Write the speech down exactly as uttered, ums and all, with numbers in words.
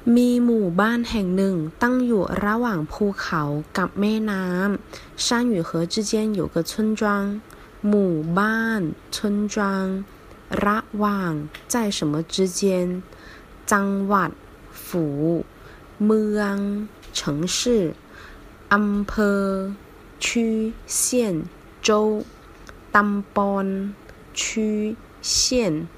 มีหมู่บ้านแห่งหนึ่งตั้งอยู่ระหว่างภูเขากับแม่น้ำ山与河之间有个村庄หมู่บ้าน村庄ระหว่าง在什么之间จังหวัด府เมือง城市อำเภอ区县州ตำบล区县